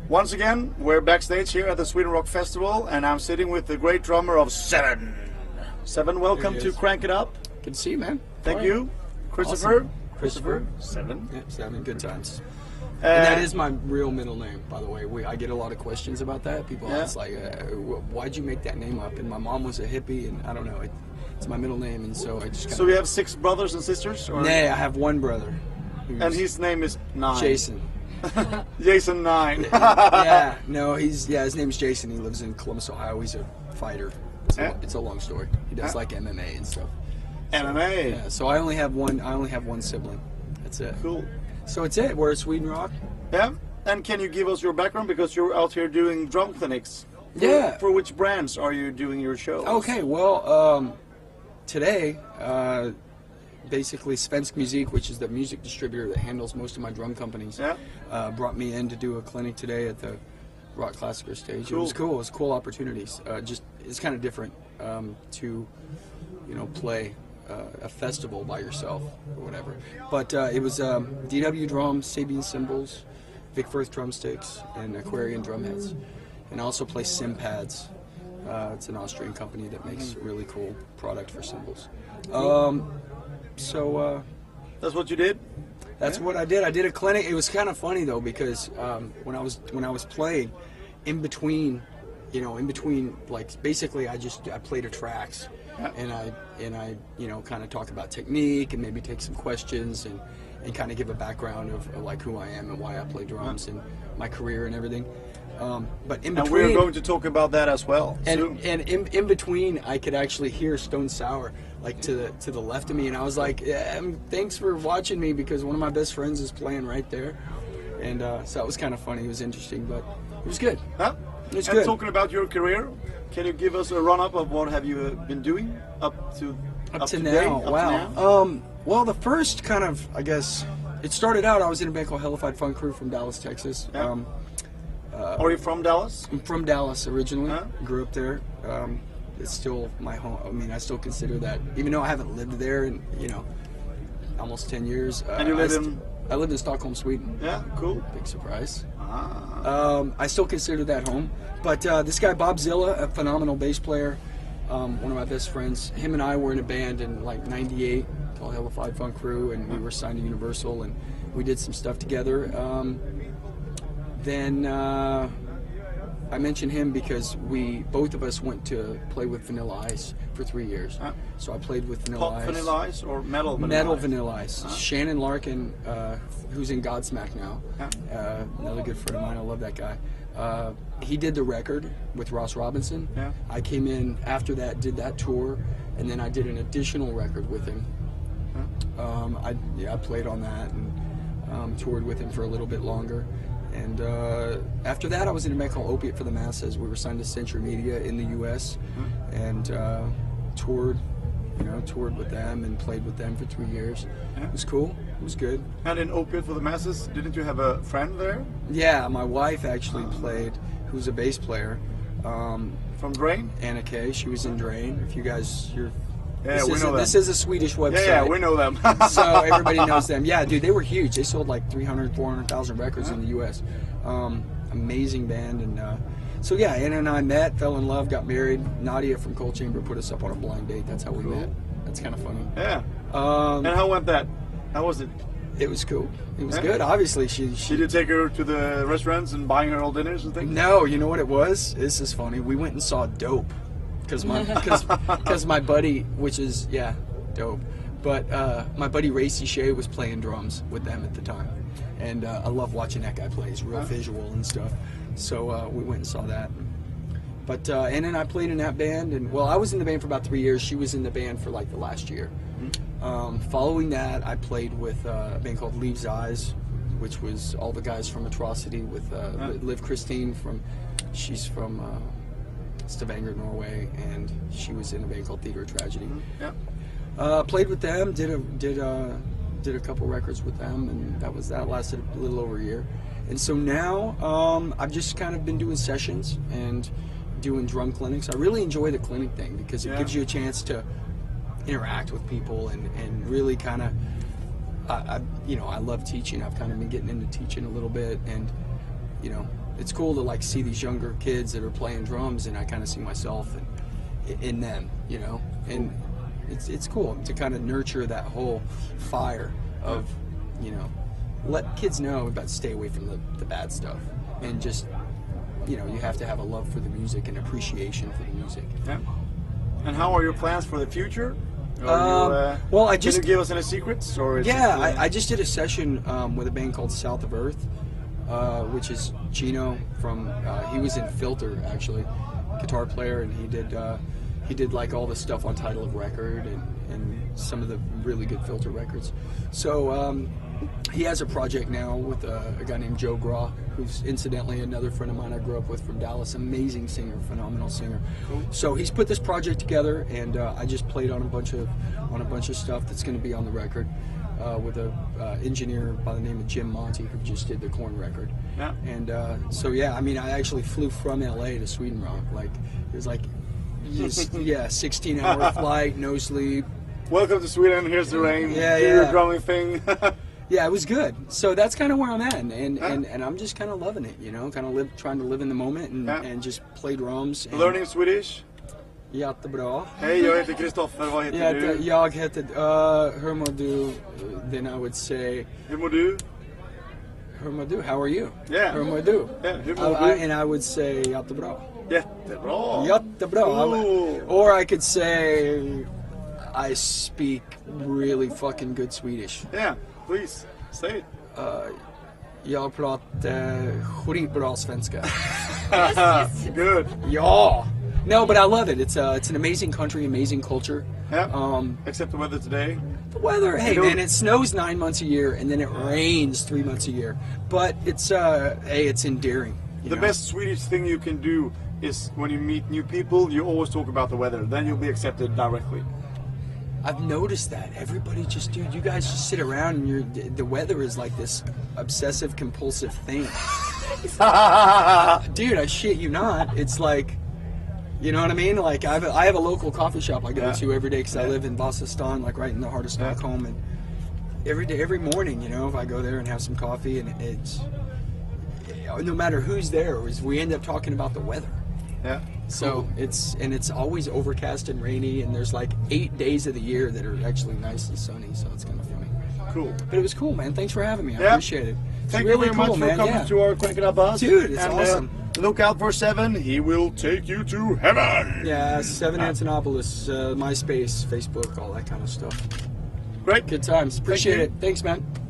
Once again, we're backstage here at the Sweden Rock Festival, and I'm sitting with the great drummer of Seven. Seven, welcome to Crank It Up. Good to see you, man. Thank you. Christopher. Awesome. Christopher. Seven. Yeah, Seven. Good times. And that is my real middle name, by the way. I get a lot of questions about that. People ask, like, why'd you make that name up? And my mom was a hippie, and I don't know. It's my middle name, and so I just So we have 6 brothers and sisters? Or? Nay, I have one brother. And his name is Nine. Jason. Jason 9. Yeah, no, his name is Jason. He lives in Columbus, Ohio. He's a fighter. It's a long story. He does like MMA and stuff. MMA. Yeah, so I only have one sibling. That's it. Cool. So it's it. We're at Sweden Rock. Yeah. And can you give us your background, because you're out here doing drum clinics? For which brands are you doing your shows? Okay, well, today, basically Svensk Musik, which is the music distributor that handles most of my drum companies, brought me in to do a clinic today at the Rock Classicer stage. Cool. It was cool. It was cool opportunities. It's kind of different to, play a festival by yourself or whatever. But it was DW drums, Sabian cymbals, Vic Firth drumsticks, and Aquarian drumheads. And I also play Simpads. It's an Austrian company that makes really cool product for cymbals. That's what you did? That's what I did. I did a clinic. It was kind of funny though, because when I was playing, in between, like basically I played a tracks, and I kind of talk about technique and maybe take some questions and kind of give a background of like who I am and why I play drums and my career and everything. But in between, and we're going to talk about that as well. And in between, I could actually hear Stone Sour like to the left of me, and I was like, "Thanks for watching me," because one of my best friends is playing right there, and so that was kind of funny. It was interesting, but it was good. Huh? It was and good. Talking about your career, can you give us a run-up of what have you been doing up to now? Wow. Well, the first kind of, I guess, it started out. I was in a band called Hellified Funk Crew from Dallas, Texas. Yeah. Are you from Dallas? I'm from Dallas originally. Grew up there. It's still my home. I mean, I still consider that, even though I haven't lived there in, almost 10 years. And you live in? I lived in Stockholm, Sweden. Yeah, cool. Big surprise. I still consider that home. But this guy, Bob Zilla, a phenomenal bass player, one of my best friends, him and I were in a band in like '98 called Hellified Funk Crew, and we were signed to Universal, and we did some stuff together. Then I mentioned him because both of us went to play with Vanilla Ice for 3 years. So I played with Vanilla Ice. Vanilla Ice or metal Vanilla Metal Ice? Vanilla Ice. Shannon Larkin, who's in Godsmack now, another good friend of mine. I love that guy. He did the record with Ross Robinson. I came in after that, did that tour, and then I did an additional record with him. I played on that and toured with him for a little bit longer. And after that, I was in a band called Opiate for the Masses. We were signed to Century Media in the U.S. and toured with them and played with them for 3 years. It was cool. It was good. And in Opiate for the Masses, didn't you have a friend there? Yeah, my wife actually played, who's a bass player. From Drain? Anna Kay. She was in Drain. If you guys, we know them. This is a Swedish website. Yeah, we know them. So everybody knows them. Yeah, dude, they were huge. They sold like 300,000, 400,000 records in the U.S. Amazing band. And so yeah, Anna and I met, fell in love, got married. Nadia from Cold Chamber put us up on a blind date. That's how we met. That's kind of funny. Yeah. And how went that? How was it? It was cool. It was good. Obviously, she Did you take her to the restaurants and buying her all dinners and things? No, you know what it was? This is funny. We went and saw Dope. Because my buddy, which is, dope. But my buddy Ray Shea was playing drums with them at the time. And I love watching that guy play. He's real visual and stuff. So we went and saw that. But Anna and I played in that band. And well, I was in the band for about 3 years. She was in the band for like the last year. Following that, I played with a band called Leaves Eyes, which was all the guys from Atrocity with Liv Christine she's from Stavanger, Norway, and she was in a band called Theater of Tragedy. Played with them, did a couple records with them, and that lasted a little over a year. And so now I've just kind of been doing sessions and doing drum clinics. I really enjoy the clinic thing because it gives you a chance to interact with people and really kind of I love teaching. I've kind of been getting into teaching a little bit, and it's cool to like see these younger kids that are playing drums, and I kind of see myself in them, you know, and it's cool to kind of nurture that whole fire of, you know, let kids know about stay away from the bad stuff, and just, you know, you have to have a love for the music and appreciation for the music. Yeah. And how are your plans for the future? Well, I just can you give us any secrets, or is yeah, it, I just did a session with a band called South of Earth, which is Gino from he was in Filter, actually, guitar player, and he did like all the stuff on Title of Record and some of the really good Filter records. So he has a project now with a guy named Joe Graw, who's incidentally another friend of mine I grew up with from Dallas. Amazing singer, phenomenal singer. Cool. So he's put this project together, and I just played on a bunch of stuff that's going to be on the record with a engineer by the name of Jim Monty, who just did the Korn record. Yeah. And so yeah, I mean, I actually flew from LA to Sweden Rock. Like it was like just, yeah, 16-hour flight, no sleep. Welcome to Sweden. Here's the rain. Yeah, Do yeah. your drumming thing. Yeah, it was good. So that's kind of where I'm at, and I'm just kind of loving it, you know, kind of trying to live in the moment and just play drums. And Learning Swedish. Jättebra. Hej, jag heter Kristoffer. Vad heter du? Jag heter, hur mår du? Then I would say, Hur mår du? hur mår du? How are you? Yeah. Hur mår du? Yeah, hur mår du? And I would say, jättebra. Jättebra. Jättebra. Cool. Or I could say, I speak really fucking good Swedish. Yeah, please, say it. Jag pratar skitbra svenska. Good. Ja. No, but I love it. It's an amazing country, amazing culture. Yeah. Except the weather today. The weather, hey You know- man, it snows 9 months a year, and then it rains 3 months a year. But it's hey, it's endearing. You The know? best Swedish thing you can do is when you meet new people, you always talk about the weather. Then you'll be accepted directly. I've noticed that everybody just, dude, you guys just sit around and the weather is like this obsessive compulsive thing. Dude, I shit you not. It's like, you know what I mean? Like I have a local coffee shop I go to every day because I live in Vasastan, like right in the heart of Stockholm, and every morning, you know, if I go there and have some coffee, and it's no matter who's there, we end up talking about the weather. Yeah. So it's always overcast and rainy, and there's like 8 days of the year that are actually nice and sunny, so it's kind of funny. Cool. But it was cool, man. Thanks for having me. I Yeah. appreciate it. It's Thank really you very cool, much for man. coming Yeah. to our Quaking Buzz. Dude, it's and, awesome. Look out for Seven. He will take you to heaven. Yeah, Seven Antonopoulos, MySpace, Facebook, all that kind of stuff. Great. Good times. Appreciate you. it. Thanks, man.